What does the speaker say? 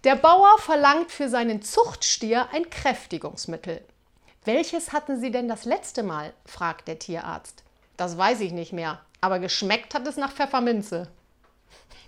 Der Bauer verlangt für seinen Zuchtstier ein Kräftigungsmittel. Welches hatten Sie denn das letzte Mal? Fragt der Tierarzt. Das weiß ich nicht mehr, aber geschmeckt hat es nach Pfefferminze.